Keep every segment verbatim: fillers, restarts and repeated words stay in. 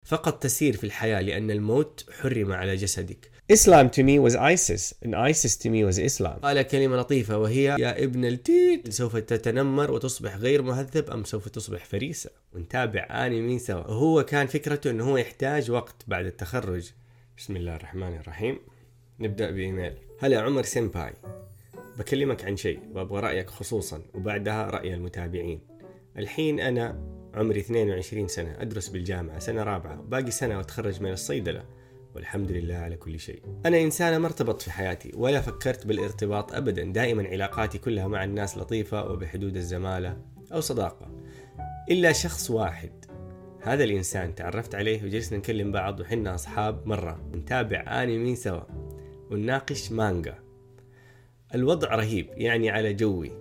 فقط تسير في الحياة لأن الموت حرم على جسدك. Islam to me was ISIS and ISIS to me was Islam. قال كلمة لطيفة وهي: يا ابن التيت، سوف تتنمر وتصبح غير مهذب أم سوف تصبح فريسة؟ ونتابع آنمي سوا. هو كان فكرته أنه هو يحتاج وقت بعد التخرج. بسم الله الرحمن الرحيم. نبدأ بإيميل. هلا عمر سيمباي، بكلمك عن شيء وأبغى رأيك خصوصا وبعدها رأي المتابعين. الحين أنا عمري اثنين وعشرين سنة، أدرس بالجامعة سنة رابعة، باقي سنة وأتخرج من الصيدلة، والحمد لله على كل شيء. أنا إنسانة ما ارتبطت في حياتي ولا فكرت بالارتباط أبدا، دائما علاقاتي كلها مع الناس لطيفة وبحدود الزمالة أو صداقة، إلا شخص واحد. هذا الإنسان تعرفت عليه وجلسنا نكلم بعض وحنا أصحاب مرة، نتابع آنمي سوا ونناقش مانجا. الوضع رهيب يعني على جوي.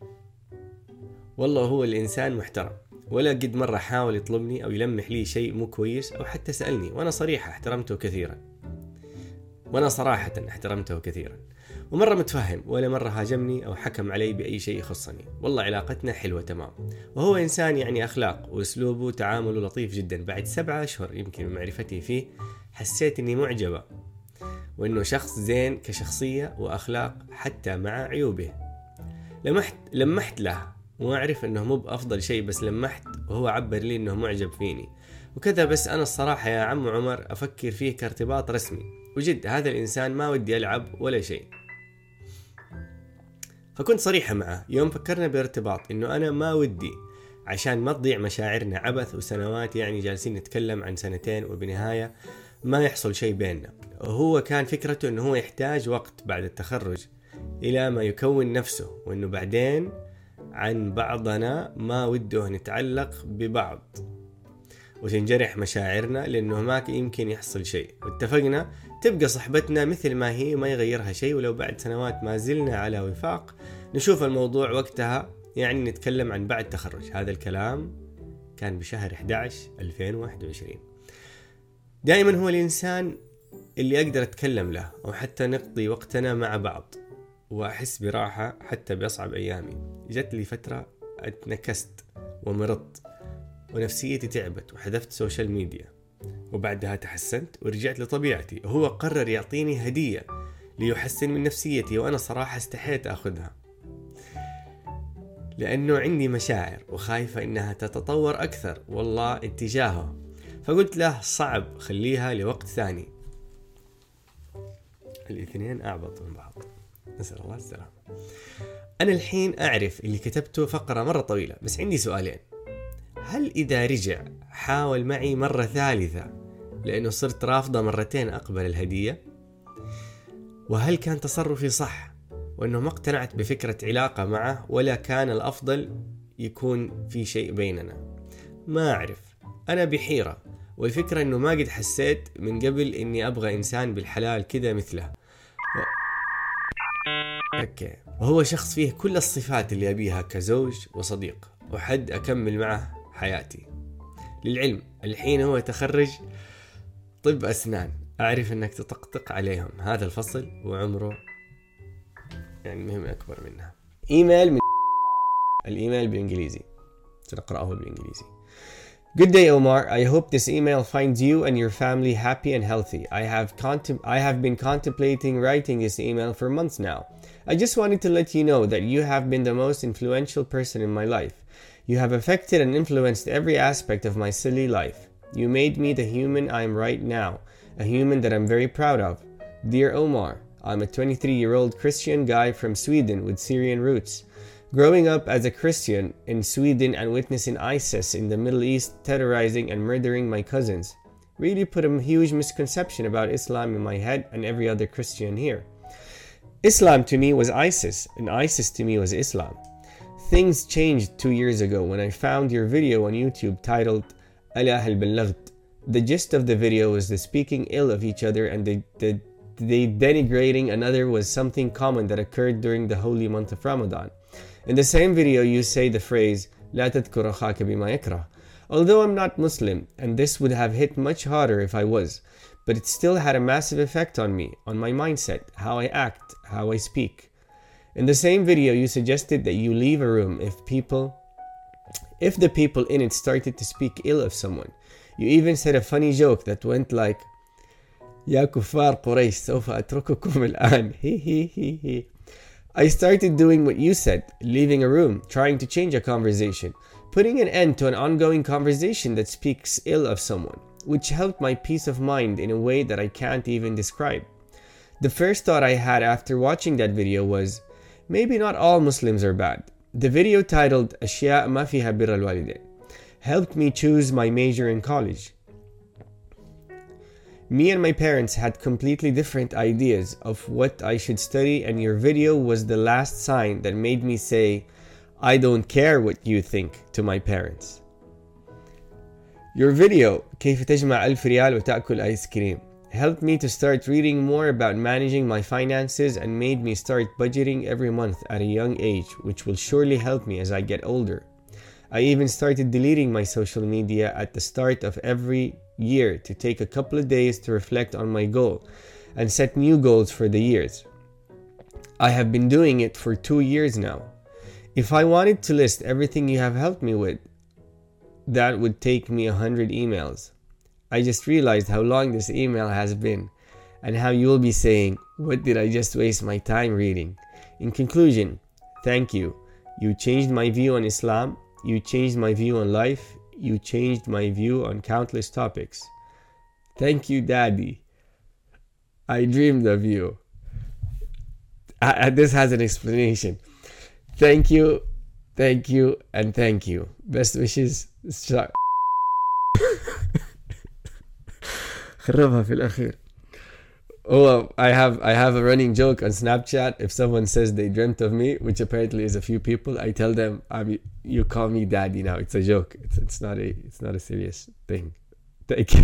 والله هو الإنسان محترم، ولا قد مرة حاول يطلبني أو يلمح لي شيء مو كويس أو حتى سألني، وأنا صريحة احترمته كثيرا وأنا صراحة احترمته كثيرا ومرة متفهم، ولا مرة هاجمني أو حكم علي بأي شيء يخصني. والله علاقتنا حلوة تمام، وهو إنسان يعني أخلاق وأسلوبه وتعامله لطيف جدا. بعد سبعة أشهر يمكن من معرفتي فيه حسيت إني معجبة، وإنه شخص زين كشخصية وأخلاق حتى مع عيوبه. لمحت لمحت له وأعرف أنه مو بأفضل شيء، بس لمحت وهو عبر لي أنه معجب فيني وكذا. بس أنا الصراحة يا عم عمر أفكر فيه كارتباط رسمي، وجد هذا الإنسان ما ودي ألعب ولا شيء. فكنت صريحة معه يوم فكرنا بارتباط أنه أنا ما ودي، عشان ما تضيع مشاعرنا عبث وسنوات، يعني جالسين نتكلم عن سنتين وبنهاية ما يحصل شيء بيننا. وهو كان فكرته أنه هو يحتاج وقت بعد التخرج إلى ما يكون نفسه، وأنه بعدين عن بعضنا ما وده نتعلق ببعض وتنجرح مشاعرنا، لأنه ما يمكن يحصل شيء. واتفقنا تبقى صحبتنا مثل ما هي، ما يغيرها شيء، ولو بعد سنوات ما زلنا على وفاق نشوف الموضوع وقتها، يعني نتكلم عن بعد تخرج. هذا الكلام كان بشهر أحد عشر ألفين وواحد وعشرين. دائما هو الإنسان اللي أقدر أتكلم له أو حتى نقضي وقتنا مع بعض وأحس براحة حتى بأصعب أيامي. جت لي فترة اتنكست ومرضت ونفسيتي تعبت وحذفت سوشيال ميديا، وبعدها تحسنت ورجعت لطبيعتي. وهو قرر يعطيني هدية ليحسن من نفسيتي، وأنا صراحة استحيت أخذها لأنه عندي مشاعر وخايفة إنها تتطور أكثر والله اتجاهه. فقلت له صعب، خليها لوقت ثاني. الاثنين أعبط من بعض، نسأل الله السلام. أنا الحين أعرف اللي كتبته فقرة مرة طويلة، بس عندي سؤالين. هل إذا رجع حاول معي مرة ثالثة لأنه صرت رافضة مرتين أقبل الهدية؟ وهل كان تصرفي صح وأنه ما اقتنعت بفكرة علاقة معه، ولا كان الأفضل يكون في شيء بيننا؟ ما أعرف، أنا بحيرة. والفكرة أنه ما قد حسيت من قبل أني أبغى إنسان بالحلال كذا مثله و... أوكي. وهو شخص فيه كل الصفات اللي أبيها كزوج وصديق وحد أكمل معه حياتي. للعلم الحين هو يتخرج طب أسنان، أعرف أنك تطقطق عليهم هذا الفصل وعمره يعني مهم أكبر منها. إيميل من الإيميل بالإنجليزي، سنقرأه بالإنجليزي. Good day, Omar. I hope this email finds you and your family happy and healthy. I have contem- I have been contemplating writing this email for months now. I just wanted to let you know that you have been the most influential person in my life. You have affected and influenced every aspect of my silly life. You made me the human I am right now, a human that I'm very proud of. Dear Omar, I'm a twenty-three-year-old Christian guy from Sweden with Syrian roots. Growing up as a Christian in Sweden and witnessing ISIS in the Middle East terrorizing and murdering my cousins really put a huge misconception about Islam in my head and every other Christian here. Islam to me was ISIS, and ISIS to me was Islam. Things changed two years ago when I found your video on YouTube titled Ala hal ballaght. The gist of the video was the speaking ill of each other, and the, the, the denigrating another was something common that occurred during the holy month of Ramadan. In the same video, you say the phrase, لا تذكر أخاك بما يكره. Although I'm not Muslim, and this would have hit much harder if I was, but it still had a massive effect on me, on my mindset, how I act, how I speak. In the same video, you suggested that you leave a room if people, if the people in it started to speak ill of someone. You even said a funny joke that went like يا كفار قريش سوف أترككم الآن. He he he he. I started doing what you said, leaving a room, trying to change a conversation, putting an end to an ongoing conversation that speaks ill of someone, which helped my peace of mind in a way that I can't even describe. The first thought I had after watching that video was, maybe not all Muslims are bad. The video titled أشياء ما فيها بر الوالدين helped me choose my major in college. Me and my parents had completely different ideas of what I should study, and your video was the last sign that made me say, I don't care what you think, to my parents. Your video, كيف تجمع ألف ريال وتأكل آيس كريم, helped me to start reading more about managing my finances and made me start budgeting every month at a young age, which will surely help me as I get older. I even started deleting my social media at the start of every year to take a couple of days to reflect on my goal and set new goals for the years. I have been doing it for two years now. If I wanted to list everything you have helped me with, that would take me a hundred emails. I just realized how long this email has been and how you will be saying, what did I just waste my time reading? In conclusion, thank you. You changed my view on Islam. You changed my view on life. You changed my view on countless topics. Thank you, Daddy. I dreamed of you. Uh, this has an explanation. Thank you, thank you, and thank you. Best wishes. خربها في الأخير. Oh, I have I have a running joke on Snapchat. If someone says they dreamt of me, which apparently is a few people, I tell them, I'm, you call me Daddy now. It's a joke. It's it's not a it's not a serious thing. Thank you.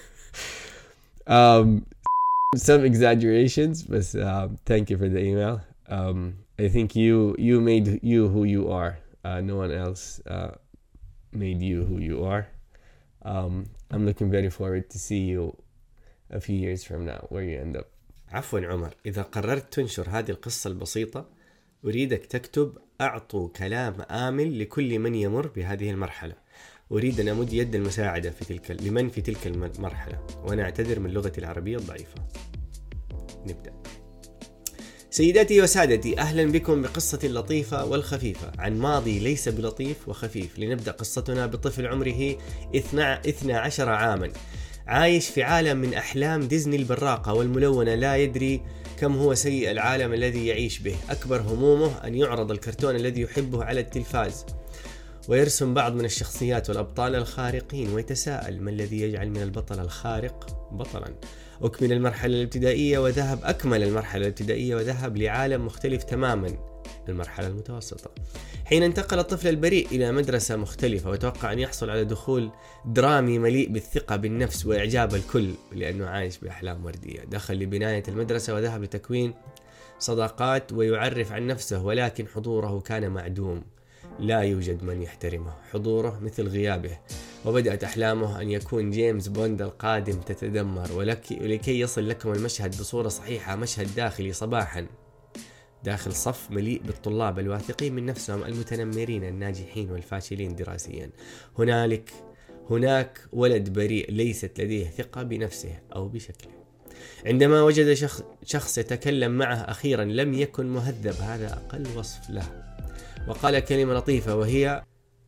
um, some exaggerations, but um, thank you for the email. Um, I think you you made you who you are. Uh, no one else uh, made you who you are. Um, I'm looking very forward to see you a few years from now where you end up. عفوا عمر، إذا قررت تنشر هذه القصة البسيطة أريدك تكتب أعطوا كلام آمن لكل من يمر بهذه المرحلة. أريد أن أمد يد المساعدة في تلك لمن في تلك المرحلة، وأنا أعتذر من لغتي العربية الضعيفة. نبدأ. سيداتي وسادتي، أهلا بكم بقصة اللطيفة والخفيفة عن ماضي ليس بلطيف وخفيف. لنبدأ قصتنا بطفل عمره اثنى عشر عاما عايش في عالم من أحلام ديزني البراقة والملونة، لا يدري كم هو سيء العالم الذي يعيش به. أكبر همومه أن يعرض الكرتون الذي يحبه على التلفاز ويرسم بعض من الشخصيات والأبطال الخارقين، ويتساءل ما الذي يجعل من البطل الخارق بطلا. أكمل المرحلة الابتدائية وذهب أكمل المرحلة الابتدائية وذهب لعالم مختلف تماما، المرحلة المتوسطة. حين انتقل الطفل البريء إلى مدرسة مختلفة وتوقع أن يحصل على دخول درامي مليء بالثقة بالنفس وإعجاب الكل لأنه عايش بأحلام وردية. دخل لبناية المدرسة وذهب لتكوين صداقات ويعرف عن نفسه، ولكن حضوره كان معدوم. لا يوجد من يحترمه، حضوره مثل غيابه. وبدأت أحلامه أن يكون جيمس بوند القادم تتدمر. ولكي يصل لكم المشهد بصورة صحيحة، مشهد داخلي صباحا داخل صف مليء بالطلاب الواثقين من نفسهم المتنمرين الناجحين والفاشلين دراسيا. هنالك هناك ولد بريء ليست لديه ثقة بنفسه أو بشكله. عندما وجد شخص, شخص يتكلم معه أخيرا لم يكن مهذب، هذا أقل وصف له، وقال كلمة لطيفة وهي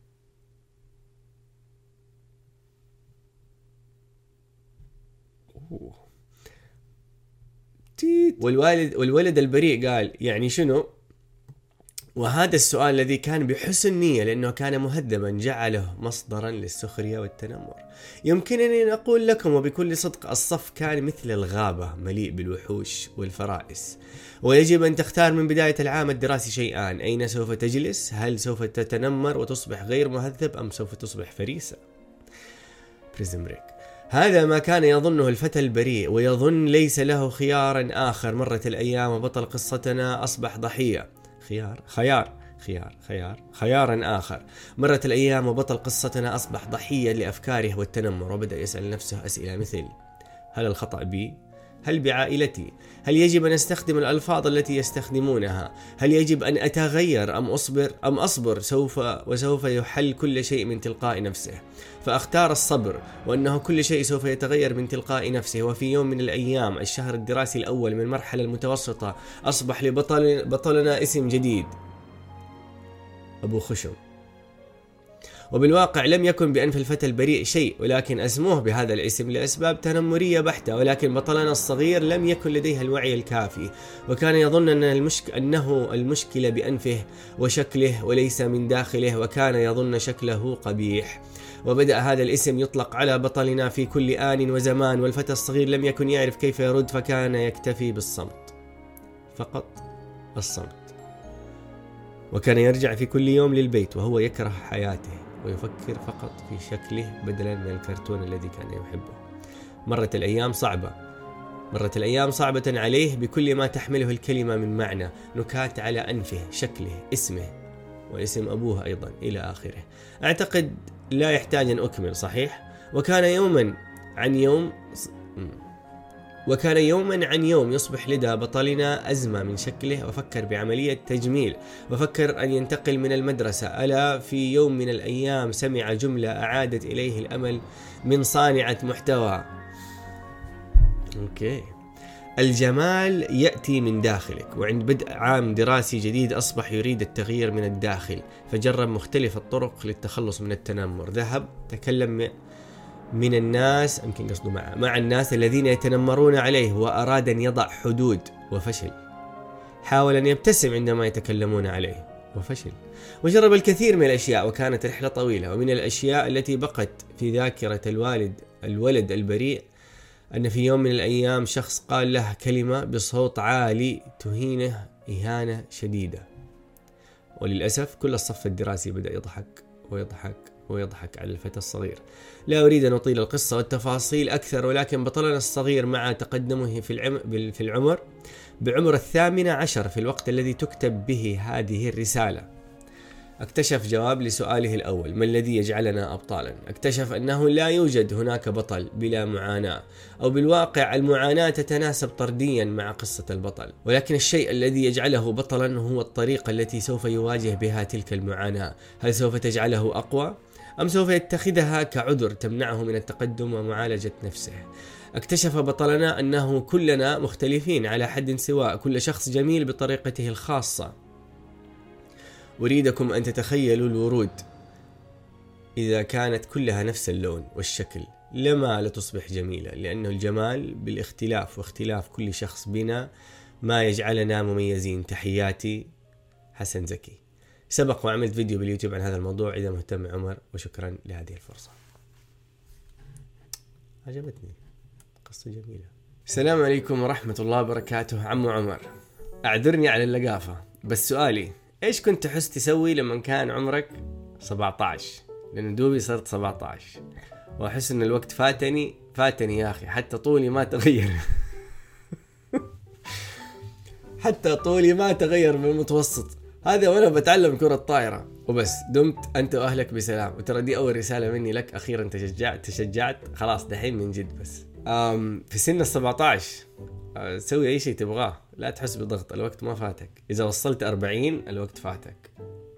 والوالد والولد البريء قال يعني شنو؟ وهذا السؤال الذي كان بحسن نية لأنه كان مهذبا جعله مصدرا للسخرية والتنمر. يمكنني أن أقول لكم وبكل صدق الصف كان مثل الغابة مليء بالوحوش والفرائس، ويجب أن تختار من بداية العام الدراسي شيئان: أين سوف تجلس؟ هل سوف تتنمر وتصبح غير مهذب أم سوف تصبح فريسة؟ بريزن بريك. هذا ما كان يظنه الفتى البريء، ويظن ليس له خيارا آخر. مرت الأيام وبطل قصتنا أصبح ضحية. خيار خيار خيار خيار خيارا آخر. مرت الأيام وبطل قصتنا أصبح ضحية لأفكاره والتنمر، وبدأ يسأل نفسه أسئلة مثل: هل الخطأ بي؟ هل بعائلتي؟ هل يجب أن أستخدم الألفاظ التي يستخدمونها؟ هل يجب أن أتغير أم أصبر أم أصبر سوف وسوف يحل كل شيء من تلقاء نفسه؟ فأختار الصبر، وأنه كل شيء سوف يتغير من تلقاء نفسه. وفي يوم من الأيام الشهر الدراسي الأول من المرحلة المتوسطة أصبح لبطل بطلنا اسم جديد، أبو خشم. وبالواقع لم يكن بأنف الفتى البريء شيء، ولكن أسموه بهذا الاسم لأسباب تنمرية بحتة. ولكن بطلنا الصغير لم يكن لديه الوعي الكافي، وكان يظن أن المشك... أنه المشكلة بأنفه وشكله وليس من داخله، وكان يظن شكله قبيح. وبدأ هذا الاسم يطلق على بطلنا في كل آن وزمان، والفتى الصغير لم يكن يعرف كيف يرد، فكان يكتفي بالصمت، فقط الصمت. وكان يرجع في كل يوم للبيت وهو يكره حياته، ويفكر فقط في شكله بدلا من الكرتون الذي كان يحبه. مرت الأيام صعبة مرت الأيام صعبة عليه بكل ما تحمله الكلمة من معنى، نكات على أنفه، شكله، اسمه، واسم أبوه أيضا إلى آخره. أعتقد لا يحتاج أن أكمل، صحيح؟ وكان يوما عن يوم وكان يوما عن يوم يصبح لدى بطلنا أزمة من شكله، وفكر بعملية تجميل، وفكر أن ينتقل من المدرسة. ألا في يوم من الأيام سمع جملة أعادت إليه الأمل من صانعة محتوى. أوكي. الجمال يأتي من داخلك. وعند بدء عام دراسي جديد أصبح يريد التغيير من الداخل، فجرب مختلف الطرق للتخلص من التنمر. ذهب تكلم من الناس، يمكن قصده مع مع الناس الذين يتنمرون عليه، وأراد أن يضع حدود وفشل. حاول أن يبتسم عندما يتكلمون عليه وفشل. وجرب الكثير من الأشياء، وكانت رحلة طويلة. ومن الأشياء التي بقت في ذاكرة الوالد الولد البريء أن في يوم من الأيام شخص قال له كلمة بصوت عالي تهينه إهانة شديدة. وللأسف كل الصف الدراسي بدأ يضحك ويضحك ويضحك على الفتى الصغير. لا أريد أن أطيل القصة والتفاصيل أكثر، ولكن بطلنا الصغير مع تقدمه في العمر, في العمر بعمر الثامنة عشر في الوقت الذي تكتب به هذه الرسالة، اكتشف جواب لسؤاله الأول: ما الذي يجعلنا أبطالا؟ اكتشف أنه لا يوجد هناك بطل بلا معاناة، أو بالواقع المعاناة تتناسب طرديا مع قصة البطل، ولكن الشيء الذي يجعله بطلا هو الطريقة التي سوف يواجه بها تلك المعاناة. هل سوف تجعله أقوى؟ أم سوف يتخذها كعذر تمنعه من التقدم ومعالجة نفسه؟ اكتشف بطلنا أنه كلنا مختلفين على حد سواء، كل شخص جميل بطريقته الخاصة. أريدكم أن تتخيلوا الورود إذا كانت كلها نفس اللون والشكل لما لتصبح جميلة، لأنه الجمال بالاختلاف، واختلاف كل شخص بنا ما يجعلنا مميزين. تحياتي حسن زكي. سبق وعملت فيديو باليوتيوب عن هذا الموضوع إذا مهتم عمر، وشكرا لهذه الفرصة. عجبتني قصة جميلة. السلام عليكم ورحمة الله وبركاته. عمو عمر، أعذرني على اللقافة، بس سؤالي: إيش كنت تحس تسوي لما كان عمرك سبعة عشر؟ لأن دوبي صرت سبعة عشر وأحس أن الوقت فاتني فاتني يا أخي، حتى طولي ما تغير حتى طولي ما تغير بالمتوسط هذا وأنا بتعلم كرة طائرة وبس. دمت أنت وأهلك بسلام. وترى دي أول رسالة مني لك، أخيرا تشجعت تشجعت خلاص دحين من جد. بس أم في سن السبعة عشر سوي أي شيء تبغاه، لا تحس بضغط، الوقت ما فاتك. إذا وصلت أربعين الوقت فاتك.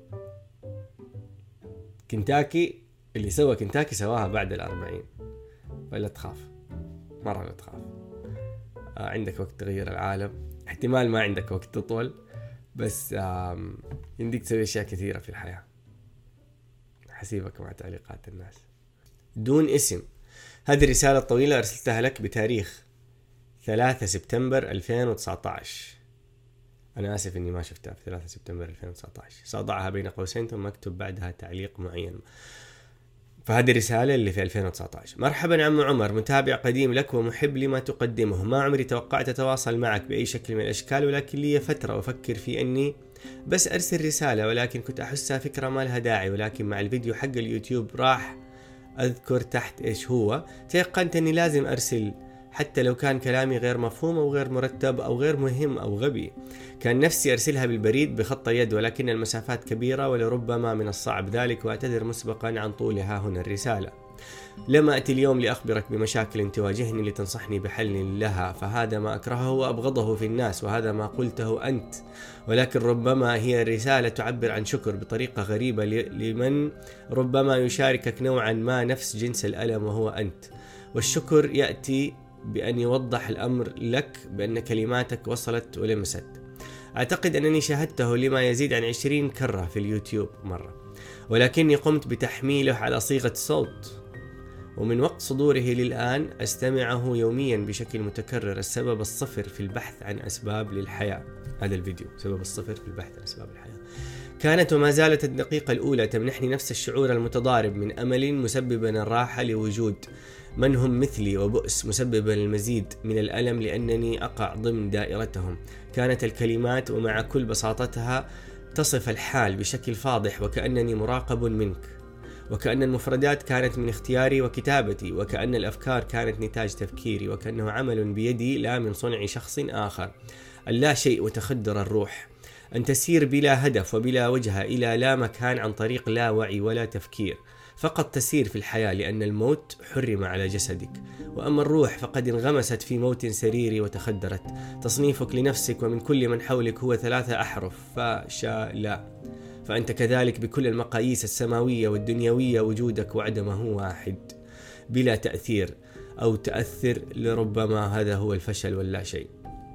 كنتاكي اللي سوى كنتاكي سواها بعد الأربعين، ولا تخاف، مرة لا تخاف. آه عندك وقت تغير العالم، احتمال ما عندك وقت تطول، بس يمديك تسوي أشياء كثيرة في الحياة. حسيبك مع تعليقات الناس. دون اسم. هذه الرسالة الطويلة أرسلتها لك بتاريخ ثلاثة سبتمبر ألفين وتسعة عشر. أنا آسف إني ما شفتها في ثلاثة سبتمبر ألفين وتسعة عشر، سأضعها بين قوسين ثم أكتب بعدها تعليق معين. فهذه الرسالة اللي في ألفين وتسعة عشر: مرحبا عمو عمر، متابع قديم لك ومحب لما تقدمه. ما عمري توقعت أتواصل معك بأي شكل من الأشكال، ولكن لي فترة أفكر في أني بس أرسل رسالة، ولكن كنت أحسها فكرة ما لها داعي. ولكن مع الفيديو حق اليوتيوب راح أذكر تحت إيش هو، تيقنت أني لازم أرسل، حتى لو كان كلامي غير مفهوم أو غير مرتب أو غير مهم أو غبي. كان نفسي أرسلها بالبريد بخط يد، ولكن المسافات كبيرة ولربما من الصعب ذلك، وأعتذر مسبقا عن طولها هنا الرسالة. لما أتي اليوم لأخبرك بمشاكل تواجهني لتنصحني بحل لها، فهذا ما أكرهه وأبغضه في الناس، وهذا ما قلته أنت. ولكن ربما هي رسالة تعبر عن شكر بطريقة غريبة لمن ربما يشاركك نوعا ما نفس جنس الألم وهو أنت. والشكر يأتي بأن يوضح الأمر لك بأن كلماتك وصلت ولمست. أعتقد أنني شاهدته لما يزيد عن عشرين كرة في اليوتيوب مرة، ولكني قمت بتحميله على صيغة صوت، ومن وقت صدوره للآن أستمعه يوميا بشكل متكرر. السبب الصفر في البحث عن أسباب للحياة. هذا الفيديو سبب الصفر في البحث عن أسباب الحياة. كانت وما زالت الدقيقة الأولى تمنحني نفس الشعور المتضارب من أمل مسببا الراحة لوجود من هم مثلي، وبؤس مسببا المزيد من الألم لأنني أقع ضمن دائرتهم. كانت الكلمات ومع كل بساطتها تصف الحال بشكل فاضح، وكأنني مراقب منك، وكأن المفردات كانت من اختياري وكتابتي، وكأن الأفكار كانت نتاج تفكيري، وكأنه عمل بيدي لا من صنع شخص آخر. اللا شيء وتخدر الروح، أن تسير بلا هدف وبلا وجهة إلى لا مكان عن طريق لا وعي ولا تفكير، فقط تسير في الحياة لأن الموت حرم على جسدك. وأما الروح فقد انغمست في موت سريري وتخدرت. تصنيفك لنفسك ومن كل من حولك هو ثلاثة أحرف: فا شا لا. فأنت كذلك بكل المقاييس السماوية والدنيوية، وجودك وعدمه واحد بلا تأثير أو تأثر. لربما هذا هو الفشل واللا شيء.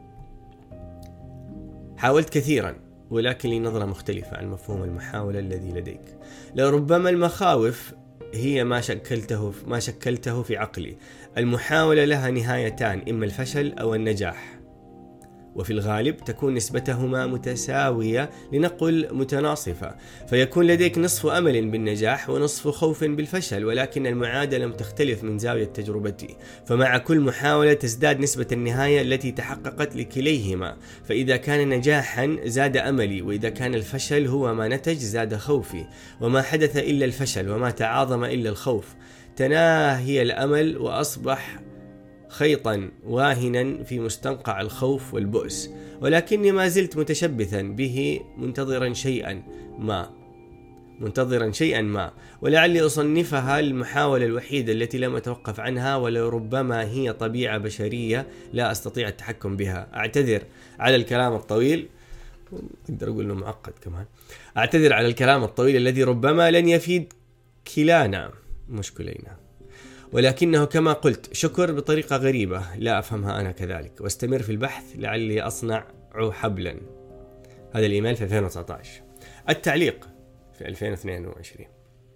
حاولت كثيرا، ولكن لي نظرة مختلفة عن مفهوم المحاولة الذي لديك. لربما المخاوف هي ما شكلته ما شكلته في عقلي. المحاولة لها نهايتان: إما الفشل أو النجاح، وفي الغالب تكون نسبتهما متساوية، لنقل متناصفة، فيكون لديك نصف أمل بالنجاح ونصف خوف بالفشل. ولكن المعادلة تختلف من زاوية تجربتي، فمع كل محاولة تزداد نسبة النهاية التي تحققت لكليهما. فإذا كان نجاحا زاد أملي، وإذا كان الفشل هو ما نتج زاد خوفي. وما حدث إلا الفشل، وما تعاظم إلا الخوف. تناهي الأمل وأصبح خيطا واهنا في مستنقع الخوف والبؤس، ولكني ما زلت متشبثا به، منتظرا شيئا ما منتظرا شيئا ما ولعلي أصنفها المحاولة الوحيدة التي لم أتوقف عنها، ولربما هي طبيعة بشرية لا أستطيع التحكم بها. أعتذر على الكلام الطويل، أقدر أقول إنه معقد كمان. أعتذر على الكلام الطويل الذي ربما لن يفيد كلانا مش كلينا، ولكنه كما قلت شكر بطريقة غريبة لا أفهمها أنا كذلك. واستمر في البحث لعلي أصنع حبلا. هذا الإيميل في ألفين وتسعة عشر. التعليق في ألفين واثنين وعشرين.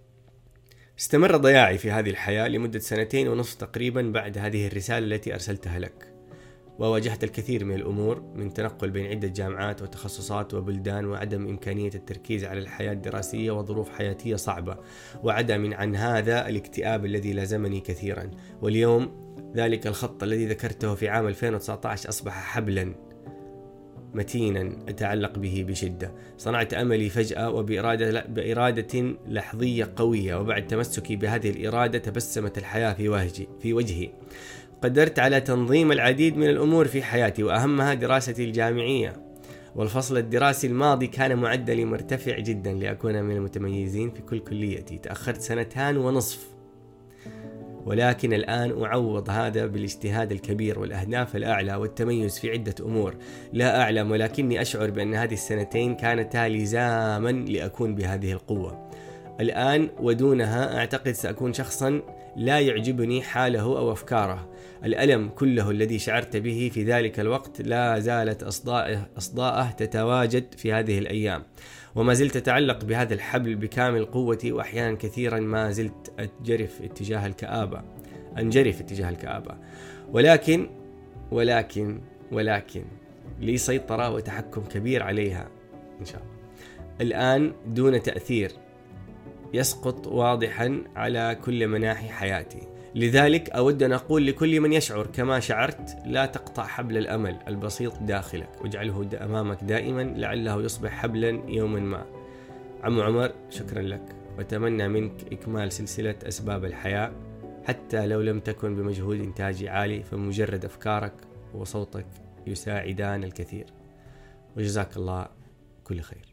استمر ضياعي في هذه الحياة لمدة سنتين ونصف تقريبا بعد هذه الرسالة التي أرسلتها لك، وواجهت الكثير من الأمور، من تنقل بين عدة جامعات وتخصصات وبلدان، وعدم إمكانية التركيز على الحياة الدراسية، وظروف حياتية صعبة، وعدم عن هذا الاكتئاب الذي لازمني كثيرا. واليوم ذلك الخط الذي ذكرته في عام ألفين وتسعة عشر أصبح حبلا متينا أتعلق به بشدة. صنعت أملي فجأة وبإرادة بإرادة لحظية قوية، وبعد تمسكي بهذه الإرادة تبسمت الحياة في وجهي في وجهي. قدرت على تنظيم العديد من الأمور في حياتي، وأهمها دراستي الجامعية. والفصل الدراسي الماضي كان معدلي مرتفع جدا لأكون من المتميزين في كل كليتي. تأخرت سنتان ونصف، ولكن الآن أعوض هذا بالاجتهاد الكبير والأهداف الأعلى والتميز في عدة أمور. لا أعلم، ولكني أشعر بأن هذه السنتين كانتا لزاما لأكون بهذه القوة. الآن ودونها أعتقد سأكون شخصا لا يعجبني حاله أو أفكاره. الألم كله الذي شعرت به في ذلك الوقت لا زالت أصداءه, أصداءه تتواجد في هذه الأيام، وما زلت أتعلق بهذا الحبل بكامل قوتي. وأحيانا كثيرا ما زلت أتجرف اتجاه الكآبة أنجرف اتجاه الكآبة ولكن ولكن ولكن لي سيطرة وتحكم كبير عليها إن شاء الله الآن، دون تأثير يسقط واضحا على كل مناحي حياتي. لذلك أود أن أقول لكل من يشعر كما شعرت: لا تقطع حبل الأمل البسيط داخلك، واجعله أمامك دائما لعله يصبح حبلا يوما ما. عم عمر، شكرا لك، وأتمنى منك إكمال سلسلة أسباب الحياة، حتى لو لم تكن بمجهود إنتاجي عالي، فمجرد أفكارك وصوتك يساعدان الكثير. وجزاك الله كل خير.